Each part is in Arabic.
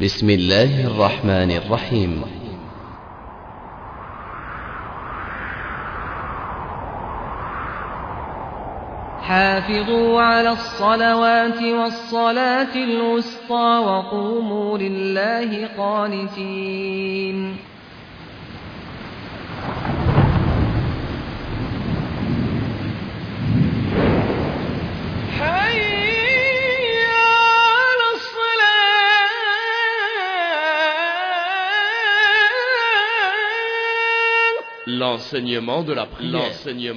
بسم الله الرحمن الرحيم. حافظوا على الصلوات والصلاة الوسطى وقوموا لله قانتين. L'enseignement de la prière.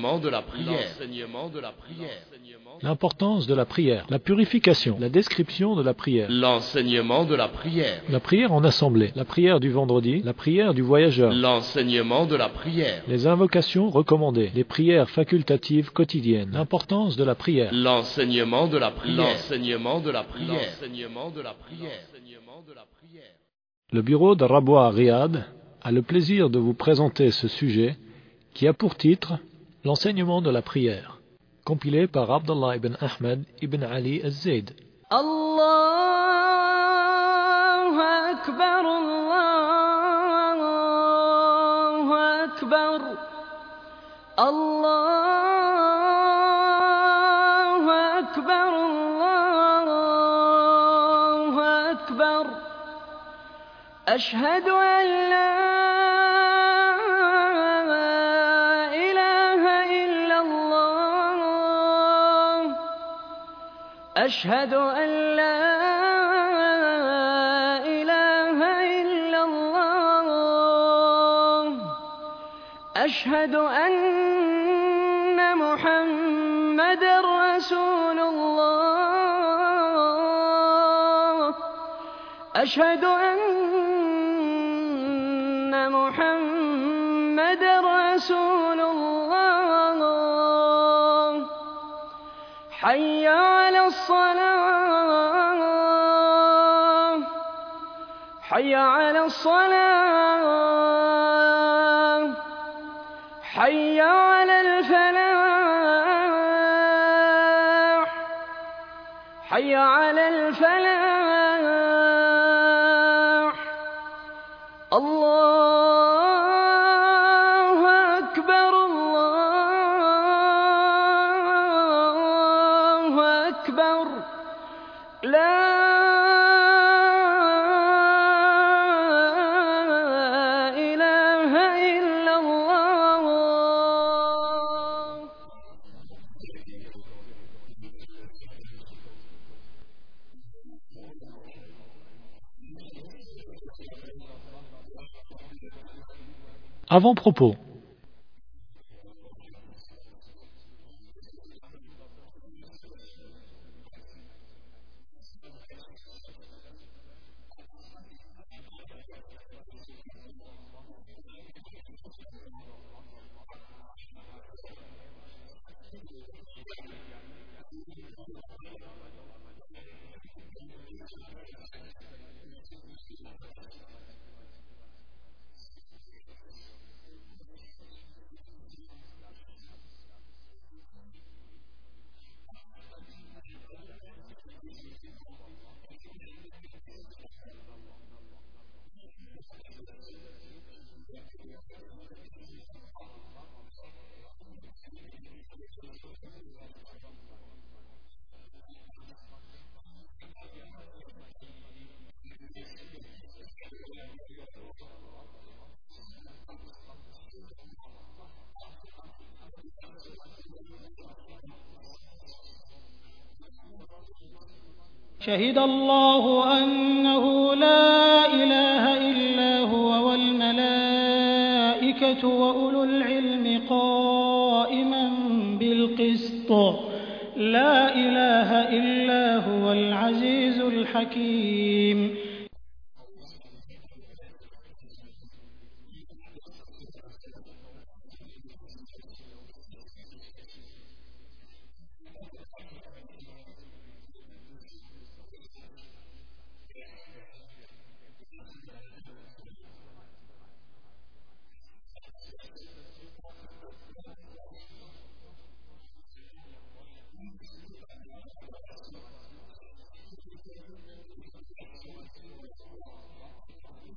L'importance de la prière, la purification, la description de la prière. L'enseignement de la prière. La prière en assemblée, la prière du vendredi, la prière du voyageur. L'enseignement de la prière. Les invocations recommandées, les prières facultatives quotidiennes. L'importance de la prière. L'enseignement de la prière. L'enseignement de la prière. L'enseignement de la prière. Le bureau de Rabwa à Riyad a le plaisir de vous présenter ce sujet qui a pour titre l'enseignement de la prière, compilé par Abdullah ibn Ahmed ibn Ali al-Zayd. Allahu Akbar, Allahu Akbar, Allahu Akbar, Allahu Akbar. Ashhadu an la أشهد أن لا إله إلا الله أشهد أن محمدًا رسول الله أشهد أن محمدًا رسول الله حي على الصلاة حي على الصلاة حي على الفلاح حي على الفلاح. الله أكبر الله أكبر لا إله إلا الله. Avant-propos. شهد الله أنه لا إله إلا هو والملائكة وأولو العلم قائما بالقسط لا إله إلا هو العزيز الحكيم.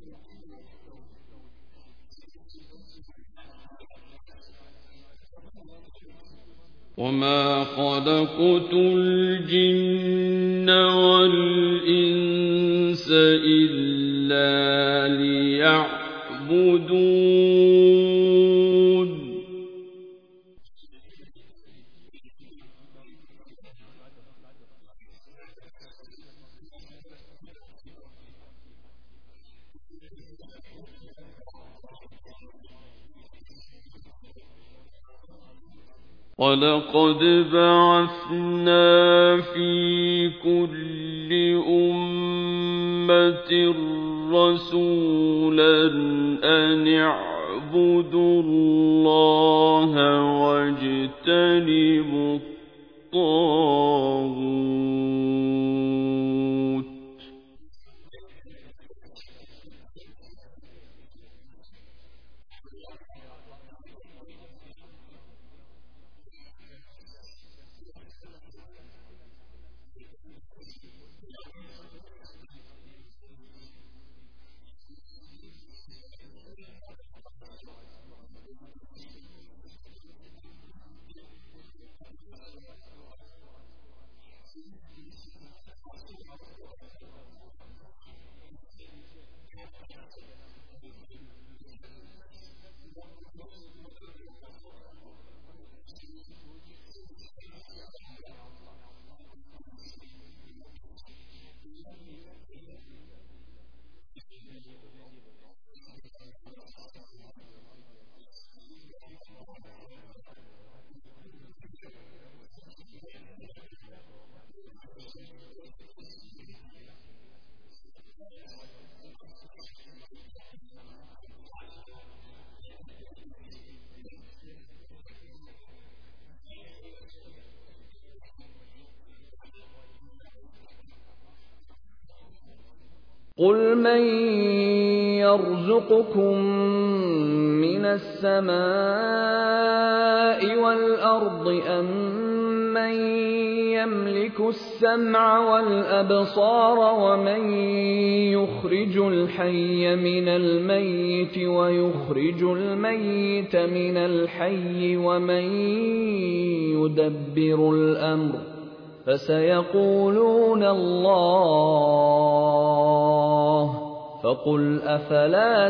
وما خلقت الجن والإنس إلا ليعبدون ولقد بعثنا في كل أمة رسولا أن اعبدوا الله واجتنبوا الطاغوت قُلْ مَن يَرْزُقُكُم مِّنَ السَّمَاءِ وَالْأَرْضِ أَمَّن يَمْلِكُ السَّمْعَ وَالْأَبْصَارَ وَمَن يُخْرِجُ الْحَيَّ مِنَ الْمَيِّتِ وَيُخْرِجُ الْمَيِّتَ مِنَ الْحَيِّ وَمَن يُدَبِّرُ الْأَمْرَ ۚ فَسَيَقُولُونَ اللَّهُ ۚ فَقُلْ أَفَلَا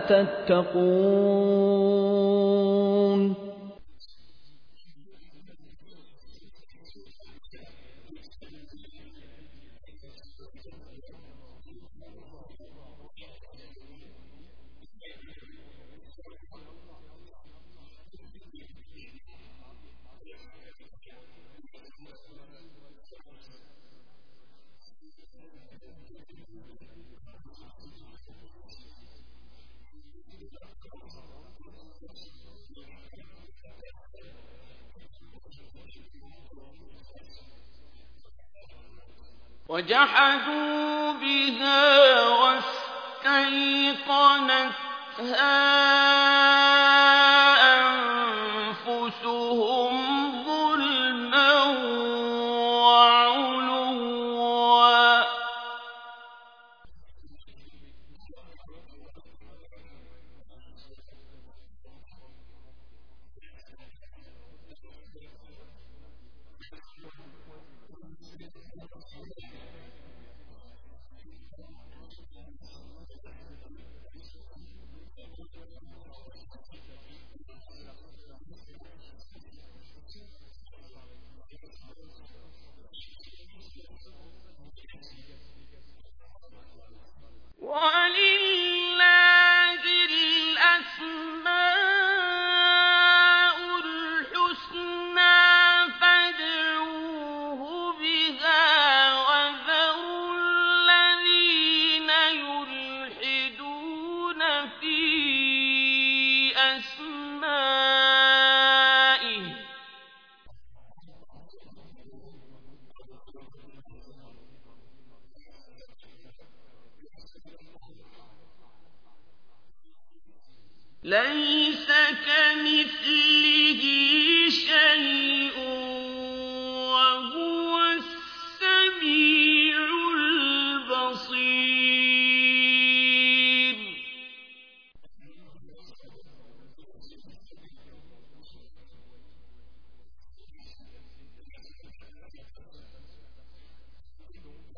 تَتَّقُونَ وجحدوا بها واستيقنتها أنفسهم ظلما وعلوا وَلِلَّهِ الْأَسْمَاءُ الْحُسْنَىٰ فَادْعُوهُ بِهَا وَذَرُوا الَّذِينَ يُلْحِدُونَ فِي أَسْمَائِهِ ۚ لَيْسَ كَمِثْلِهِ شَيْءٌ وَهُوَ السَّمِيعُ الْبَصِيرُ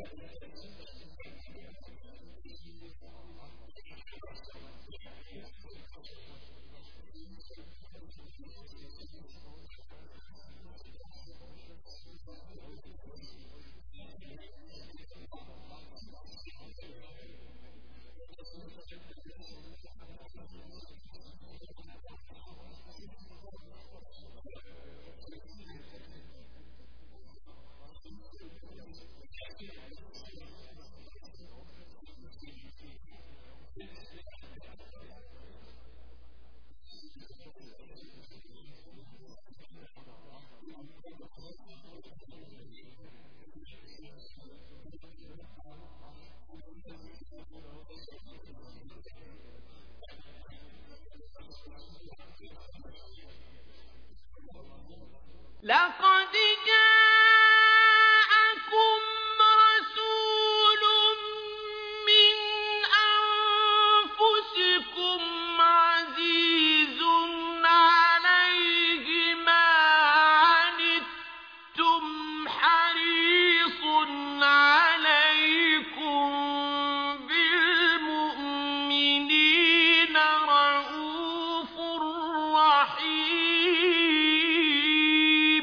لقد جاءكم رسول من أنفسكم عزيز عليه ما عنتم حريص عليكم بالمؤمنين رءوف رحيم.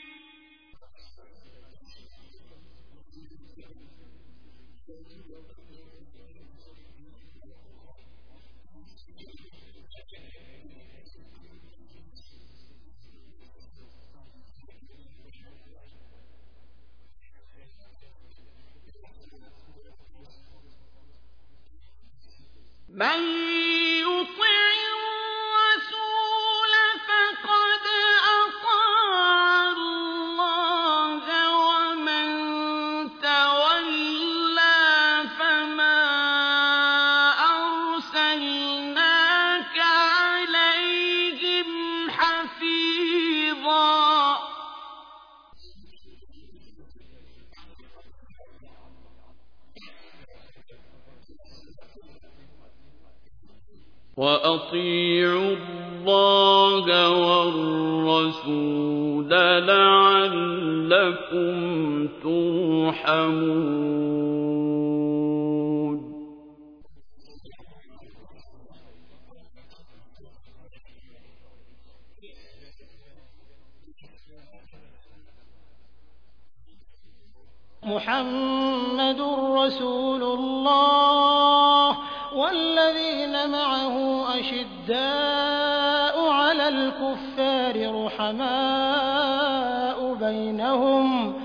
من يطع الرسول فقد أطاع الله ومن تولى فما أرسلناك عليهم حفيظا. وأطيعوا الله والرسول لعلكم ترحمون. محمد رسول الله والذين معه أشداء على الكفار رحماء بينهم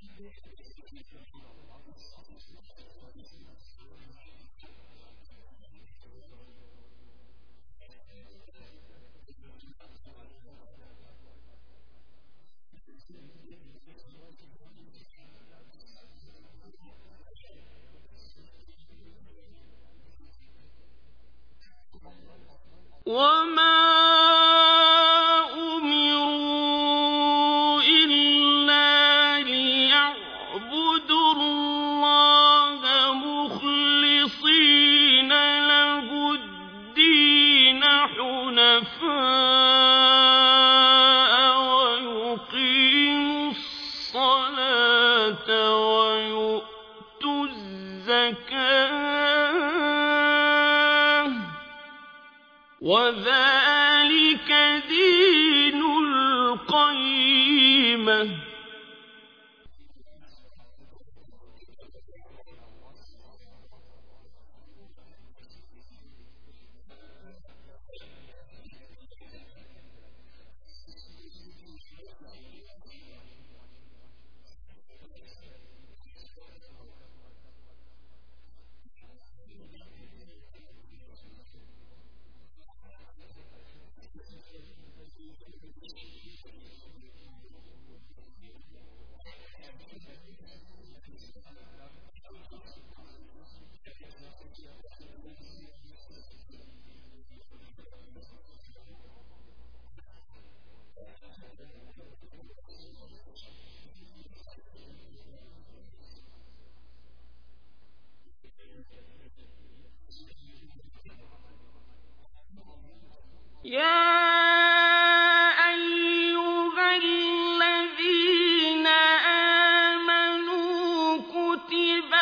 وما أمروا إلا ليعبدوا الله مخلصين له الدين حنفاء ويقيموا الصلاة ويؤتوا الزكاة وذلك دين القيمة. يا أيها الذين آمنوا كتب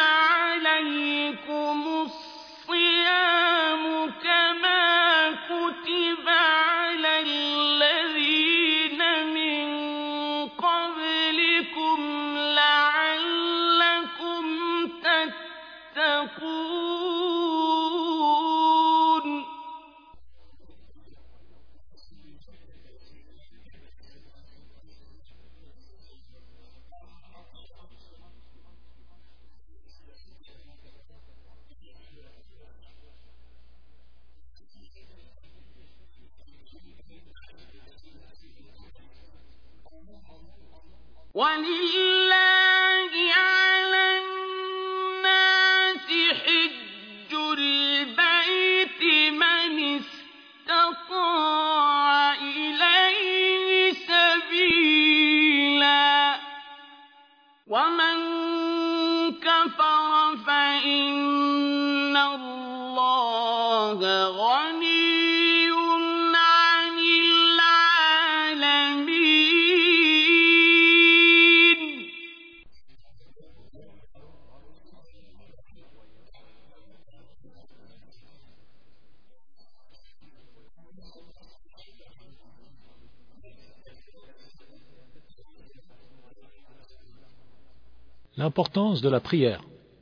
وَلِلَّهِ عَلَى النَّاسِ حِجُّ الْبَيْتِ مَنِ اسْتَطَاعَ إِلَيْهِ سَبِيلًا ۚ وَمَن كَفَرَ فَإِنَّ اللَّهَ غَنِيٌّ عَنِ الْعَالَمِينَ. L'importance de la prière.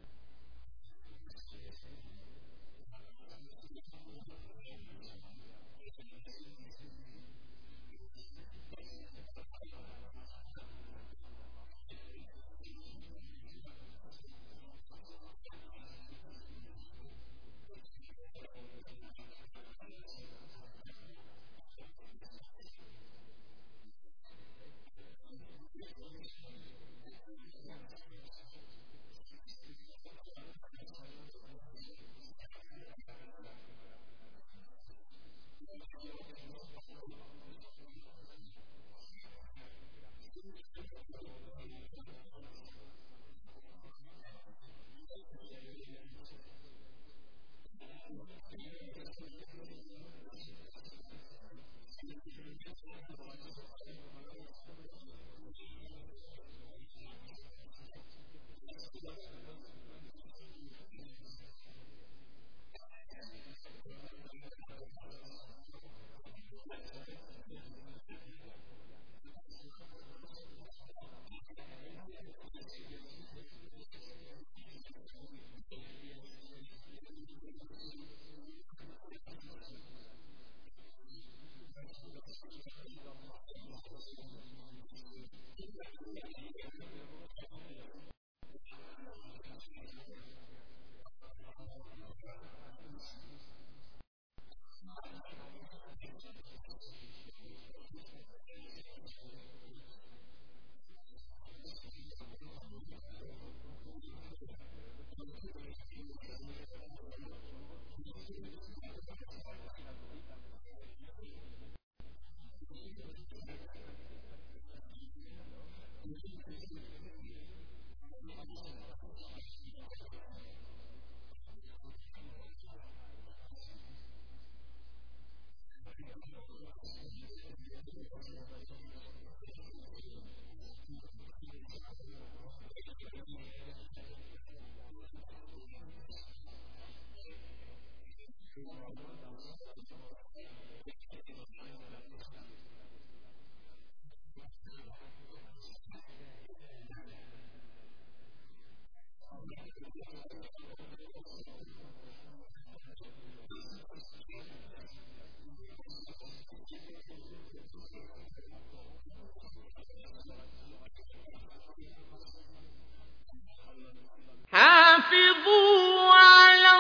حافظوا على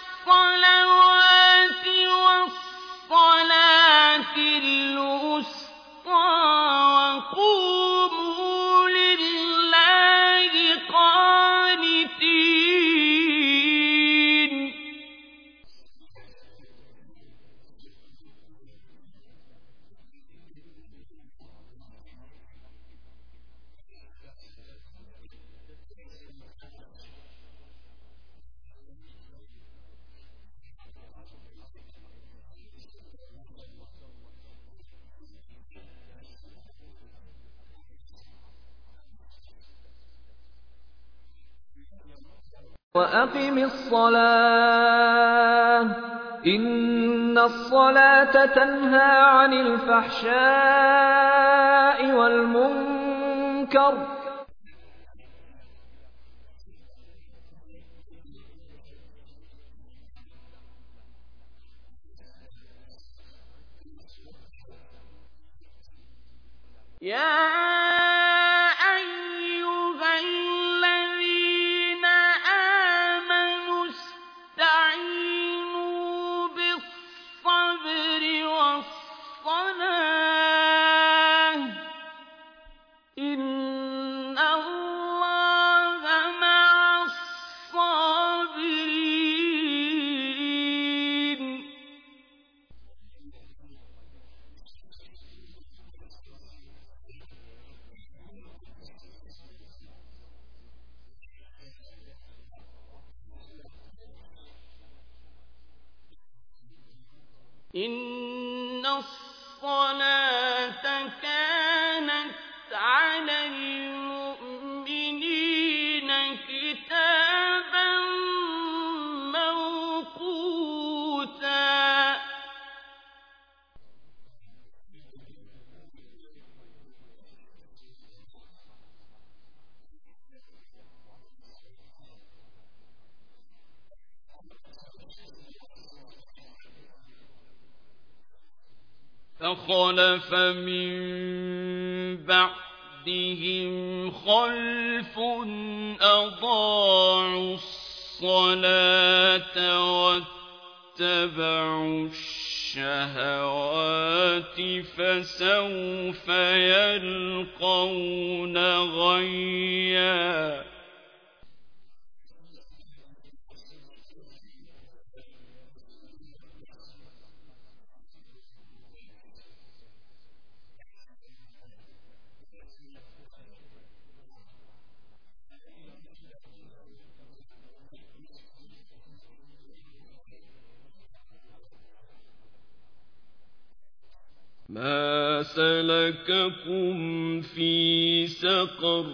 الصلوات والصلاة الوسطى وقوموا لله قانتين. وَأَقِمِ الصَّلَاةَ إِنَّ الصَّلَاةَ تَنْهَىٰ عَنِ الْفَحْشَاءِ وَالْمُنكَرِ ۗ يَا أَيُّهَا الَّذِينَ آمَنُوا اسْتَعِينُوا بِالصَّبْرِ وَالصَّلَاةِ ۚ إِنَّ إن الصلاة كانت على المؤمنين كتابا موقوتا فخلف من بعدهم خلف أضاعوا الصلاة واتبعوا الشهوات فسوف يلقون غيا ما سلككم في سقر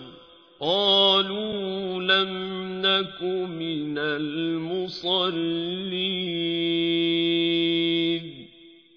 قالوا لم نك من المصلين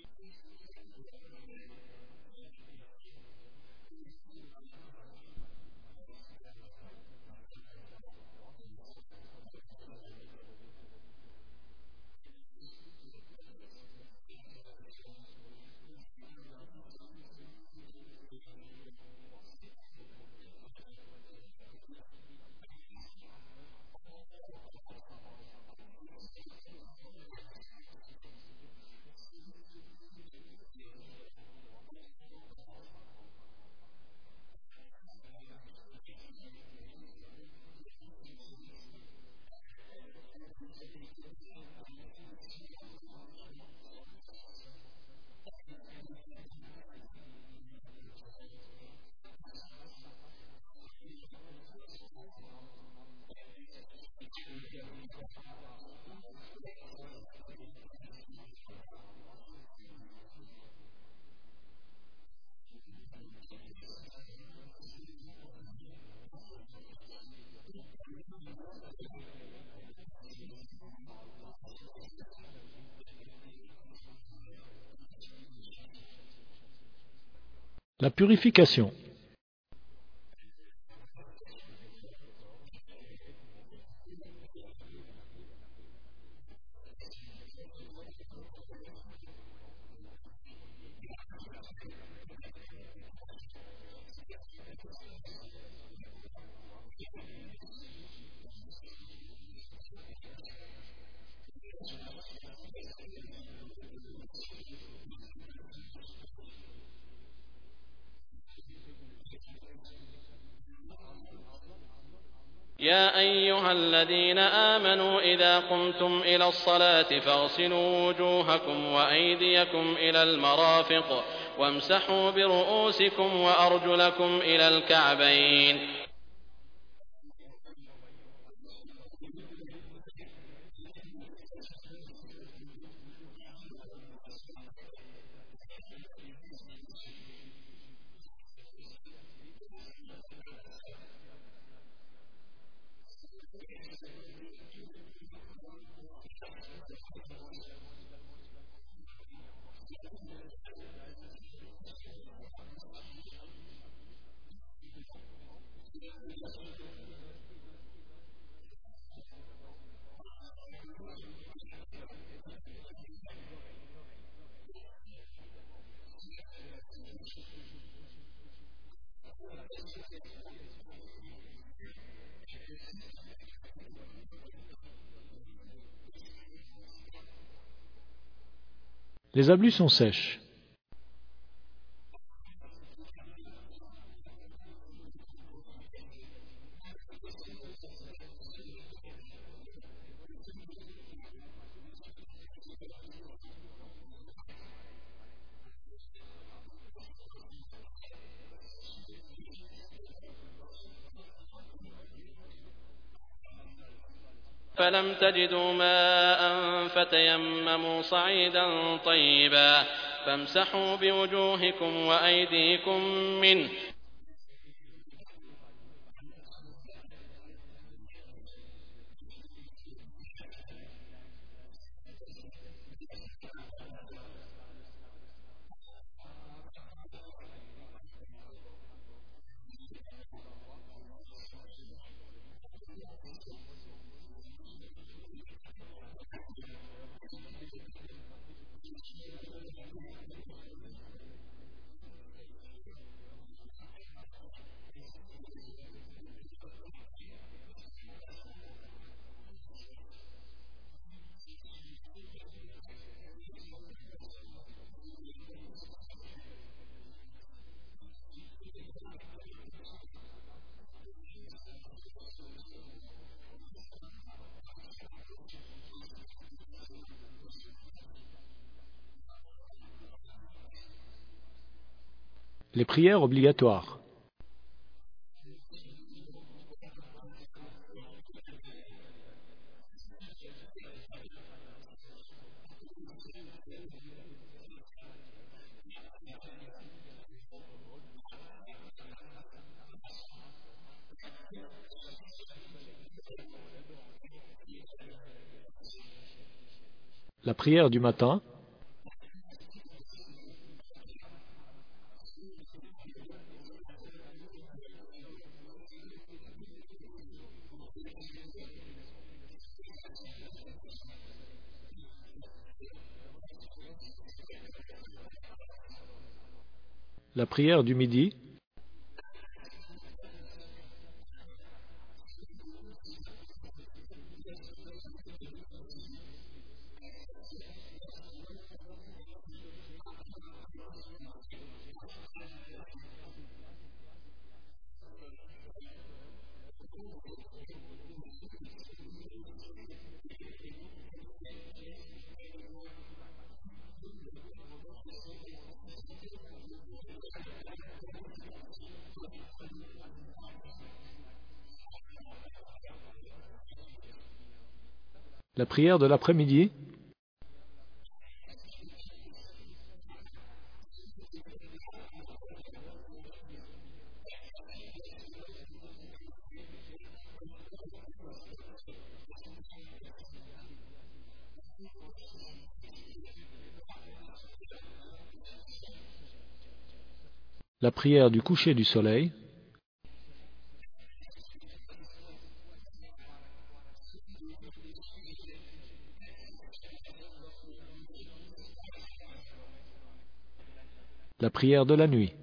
La purification. يا أيها الذين آمنوا إذا قمتم إلى الصلاة فاغسلوا وجوهكم وأيديكم إلى المرافق وامسحوا برؤوسكم وأرجلكم إلى الكعبين. Les ablutions sèches. فلم تجدوا ماء فتيمموا صعيدا طيبا فامسحوا بوجوهكم وأيديكم منه Les prières obligatoires. La prière du matin. La prière du midi. La prière de l'après-midi. La prière du coucher du soleil. La prière de la nuit.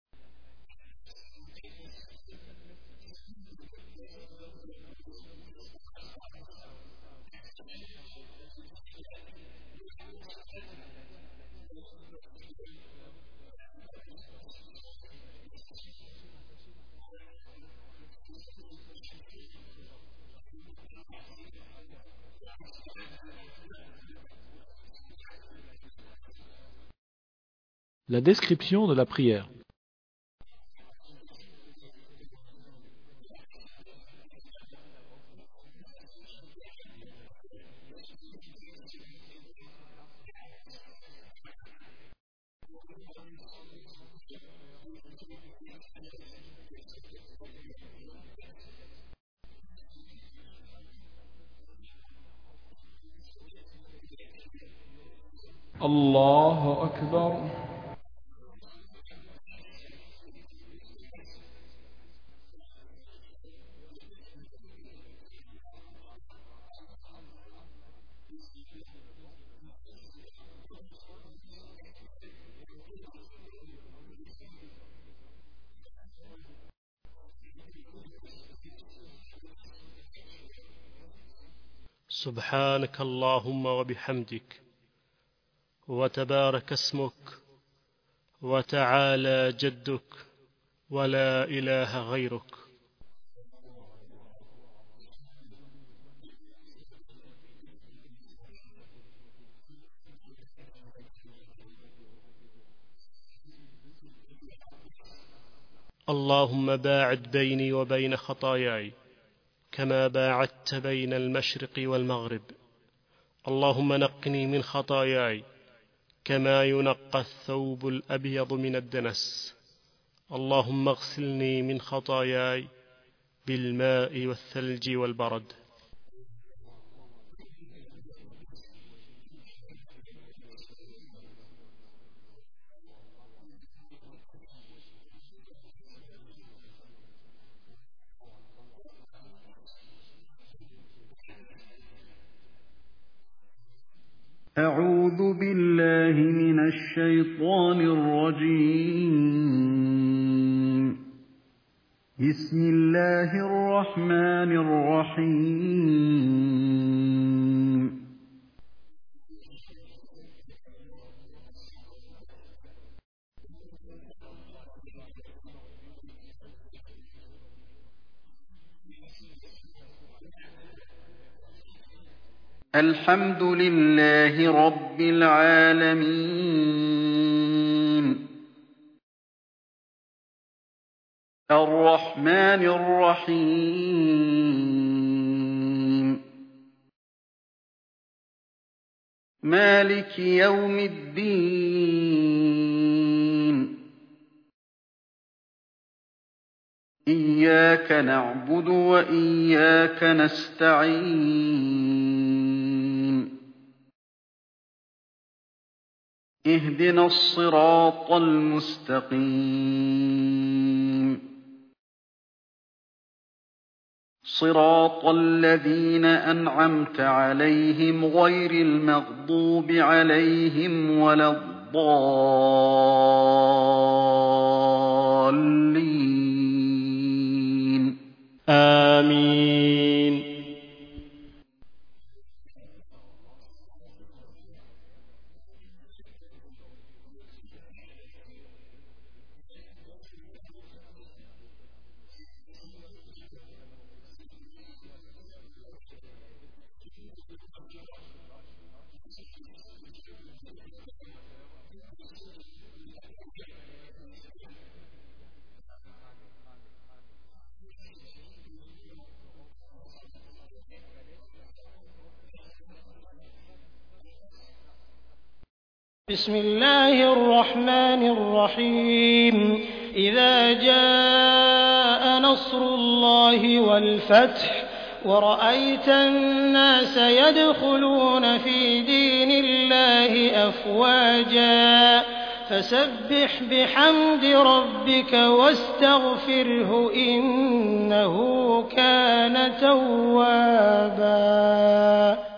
La description de la prière. الله أكبر. سبحانك اللهم وبحمدك وتبارك اسمك وتعالى جدك ولا إله غيرك. اللهم باعد بيني وبين خطاياي كما باعدت بين المشرق والمغرب. اللهم نقني من خطاياي كما ينقى الثوب الأبيض من الدنس. اللهم اغسلني من خطاياي بالماء والثلج والبرد. أعوذ بالله من الشيطان الرجيم. بسم الله الرحمن الرحيم. الحمد لله رب العالمين. الرحمن الرحيم. مالك يوم الدين. إياك نعبد وإياك نستعين. اهدنا الصراط المستقيم. صراط الذين أنعمت عليهم غير المغضوب عليهم ولا الضالين. آمين. بسم الله الرحمن الرحيم. إذا جاء نصر الله والفتح ورأيت الناس يدخلون في دين الله أفواجا فسبح بحمد ربك واستغفره إنه كان توابا.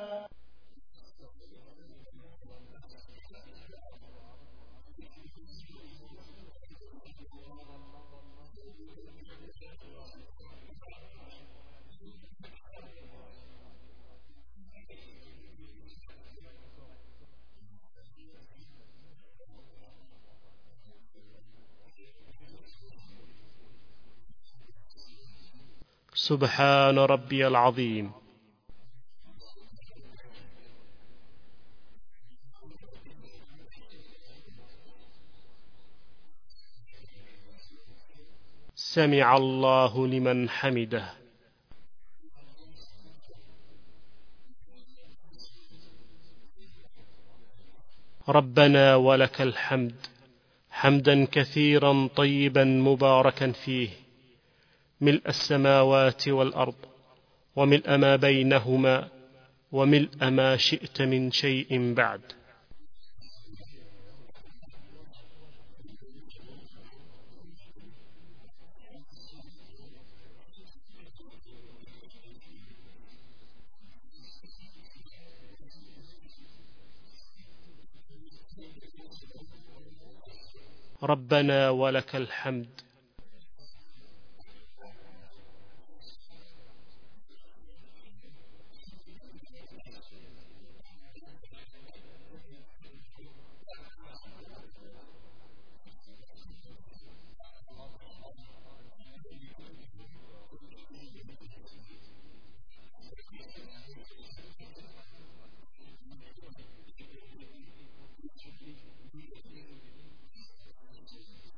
سبحان ربي العظيم. سمع الله لمن حمده. ربنا ولك الحمد حمدا كثيرا طيبا مباركا فيه، ملء السماوات والأرض وملء ما بينهما وملء ما شئت من شيء بعد. ربنا ولك الحمد.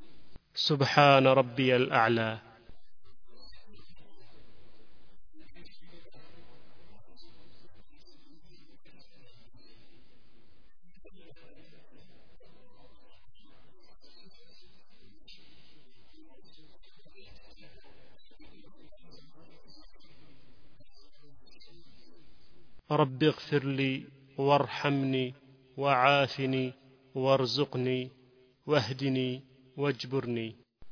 سبحان ربي الأعلى. رب اغفر لي وارحمني وعافني وارزقني واهدني واجبرني.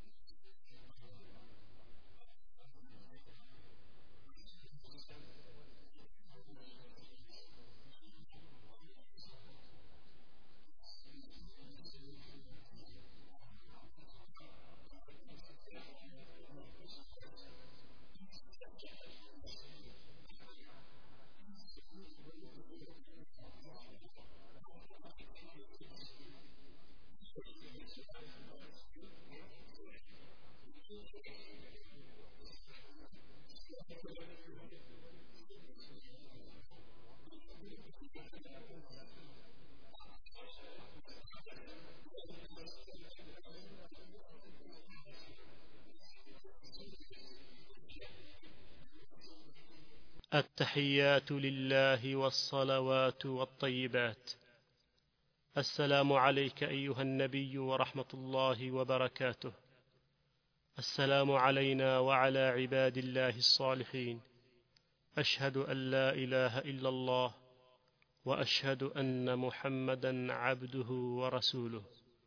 التحيات لله والصلوات والطيبات. السلام عليك أيها النبي ورحمة الله وبركاته. السلام علينا وعلى عباد الله الصالحين. أشهد أن لا إله إلا الله وأشهد أن محمدا عبده ورسوله.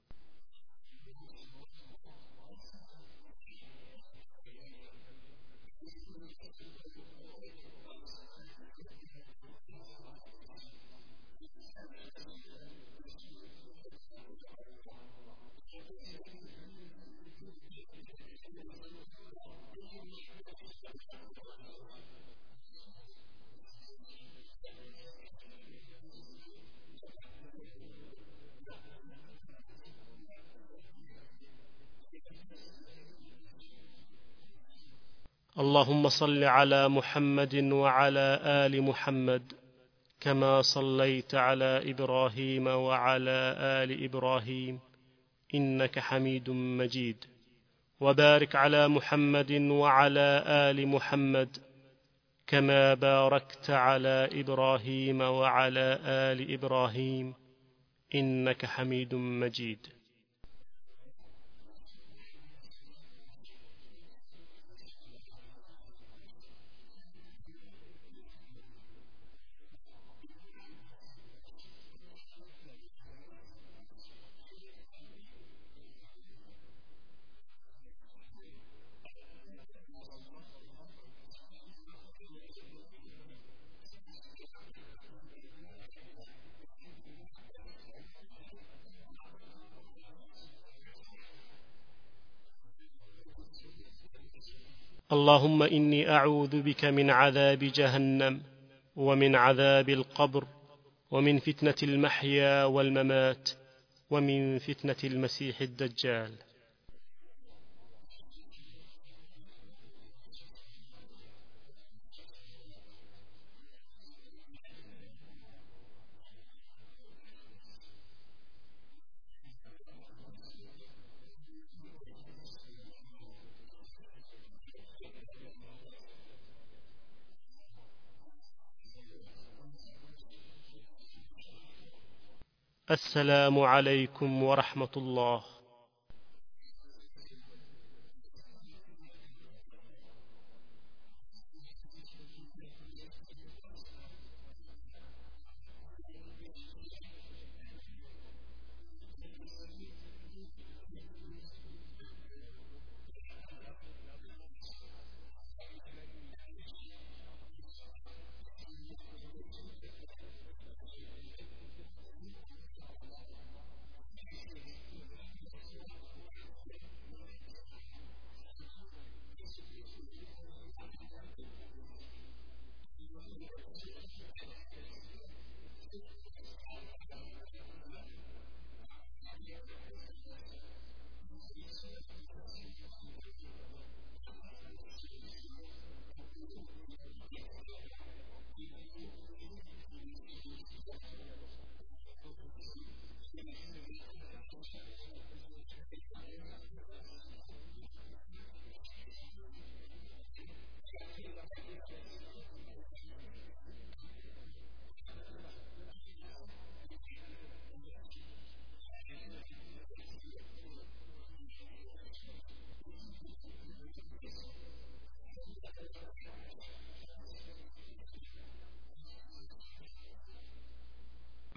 اللهم صل على محمد وعلى آل محمد كما صليت على إبراهيم وعلى آل إبراهيم إنك حميد مجيد، وبارك على محمد وعلى آل محمد كما باركت على إبراهيم وعلى آل إبراهيم إنك حميد مجيد. اللهم إني أعوذ بك من عذاب جهنم ومن عذاب القبر ومن فتنة المحيا والممات ومن فتنة المسيح الدجال. السلام عليكم ورحمة الله.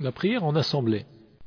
La prière en assemblée.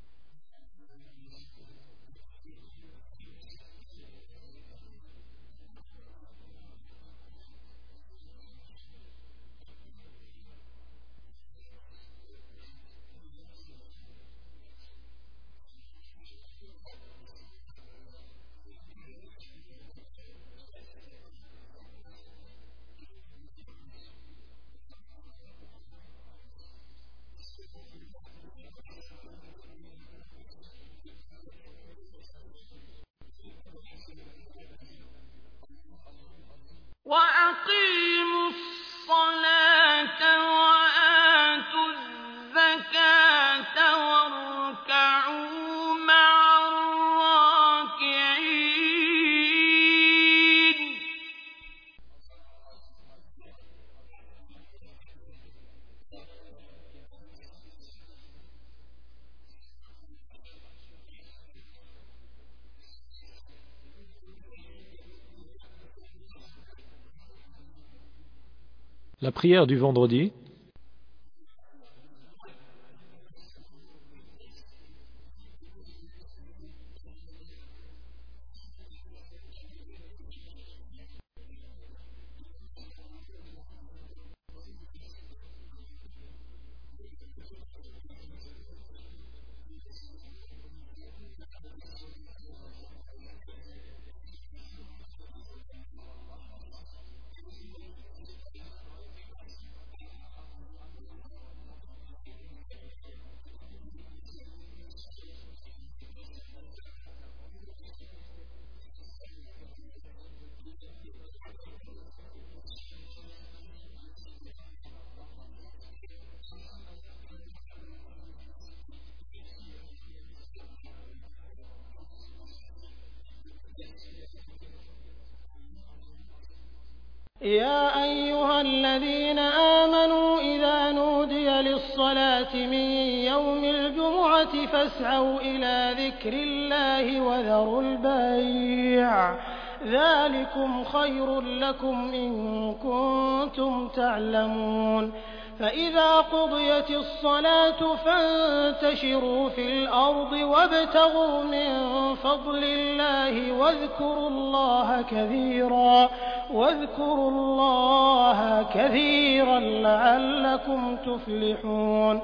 وأقيموا الصلاة وآتوا الزكاة واركعوا مع الراكعين. La prière du vendredi. يا أيها الذين آمنوا إذا نودي للصلاة من يوم الجمعة فاسعوا إلى ذكر الله وذروا البيع ذلكم خير لكم إن كنتم تعلمون. فإذا قضيت الصلاة فانتشروا في الأرض وابتغوا من فضل الله واذكروا الله كثيرا لعلكم تفلحون.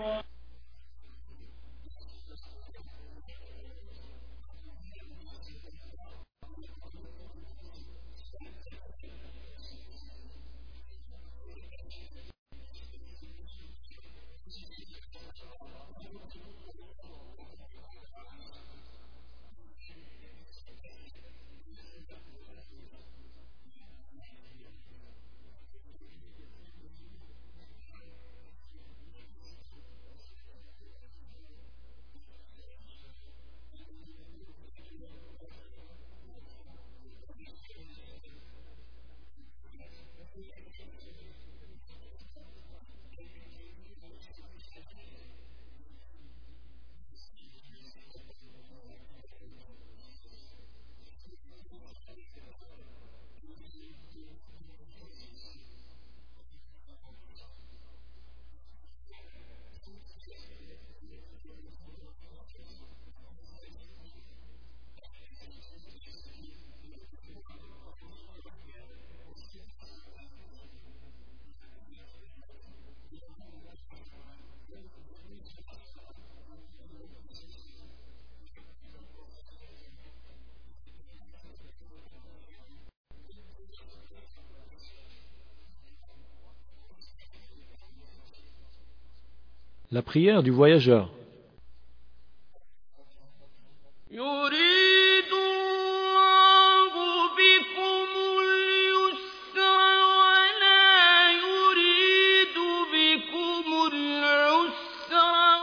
La prière du voyageur. يريد الله بكم اليسر ولا يريد بكم العسر.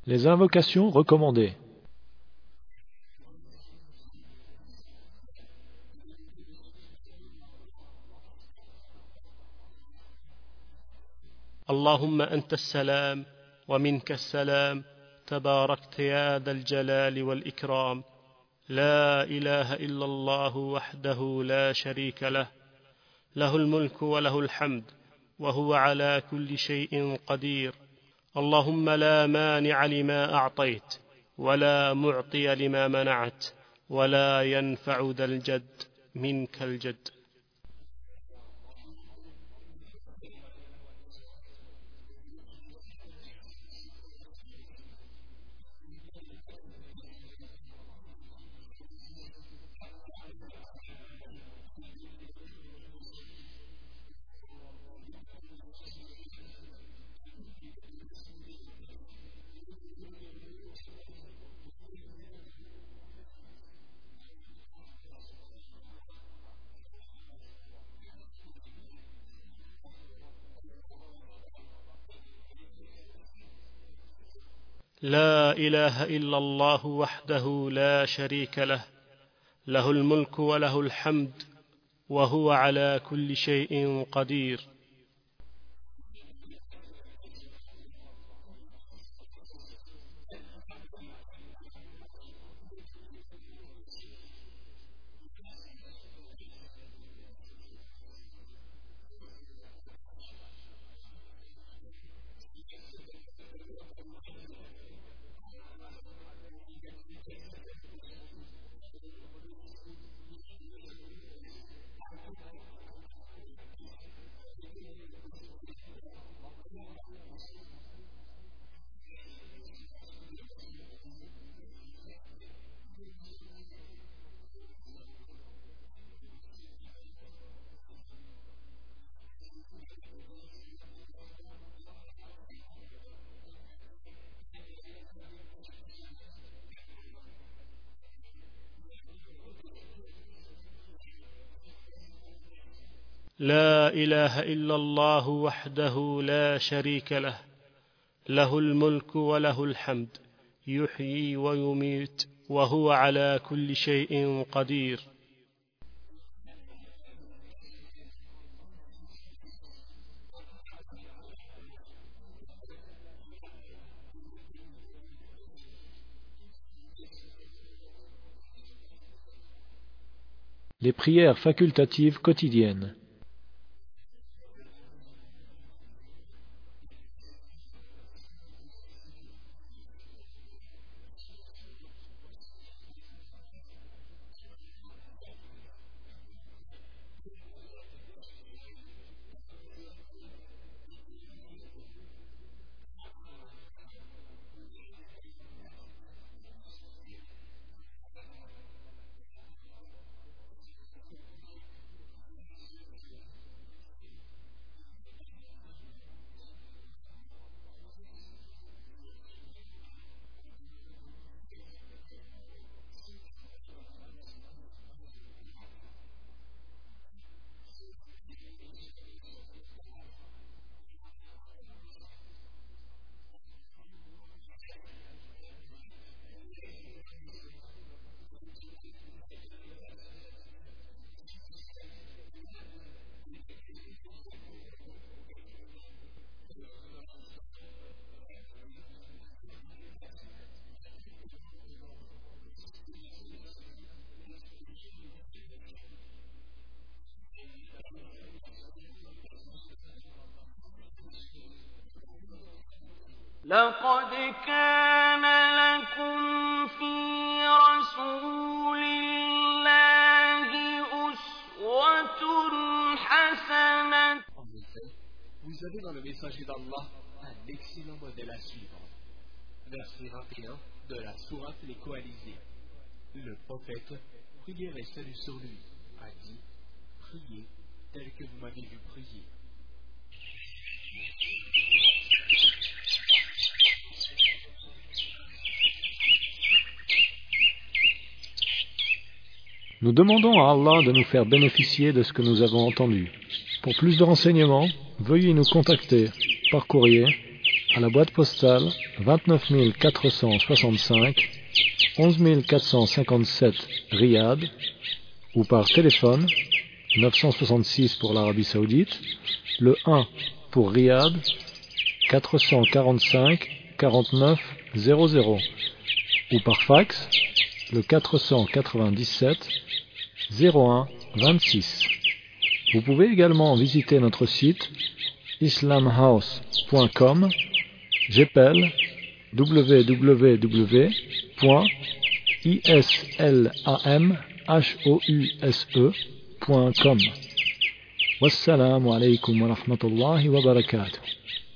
Les invocations recommandées. اللهم أنت السلام ومنك السلام تباركت يا ذا الجلال والإكرام لا إله إلا الله وحده لا شريك له له الملك وله الحمد وهو على كل شيء قدير اللهم لا مانع لما أعطيت ولا معطي لما منعت ولا ينفع ذا الجد منك الجد. لا إله إلا الله وحده لا شريك له له الملك وله الحمد وهو على كل شيء قدير. لا إله إلا الله وحده لا شريك له له الملك وله الحمد يحيي ويميت وهو على كل شيء قدير. Les prières facultatives quotidiennes. لقد كان لكم في رسول الله أسوة حسنة. En effet, vous avez dans le messager d'Allah un excellent modèle à suivre. Verset 21 de la sourate Les Coalisés. Le prophète, prière et salut sur lui, a dit: priez tel que vous m'avez vu prier. Nous demandons à Allah de nous faire bénéficier de ce que nous avons entendu. Pour plus de renseignements, veuillez nous contacter par courrier à la boîte postale 29 465 11 457 Riyad, ou par téléphone 966 pour l'Arabie Saoudite, le 1 pour Riyad 445 49 00, ou par fax le 497 01 26. Vous pouvez également visiter notre site islamhouse.com, j'appelle www.islamhouse.com. Wassalamu alaikum wa rahmatullahi wa barakatuh.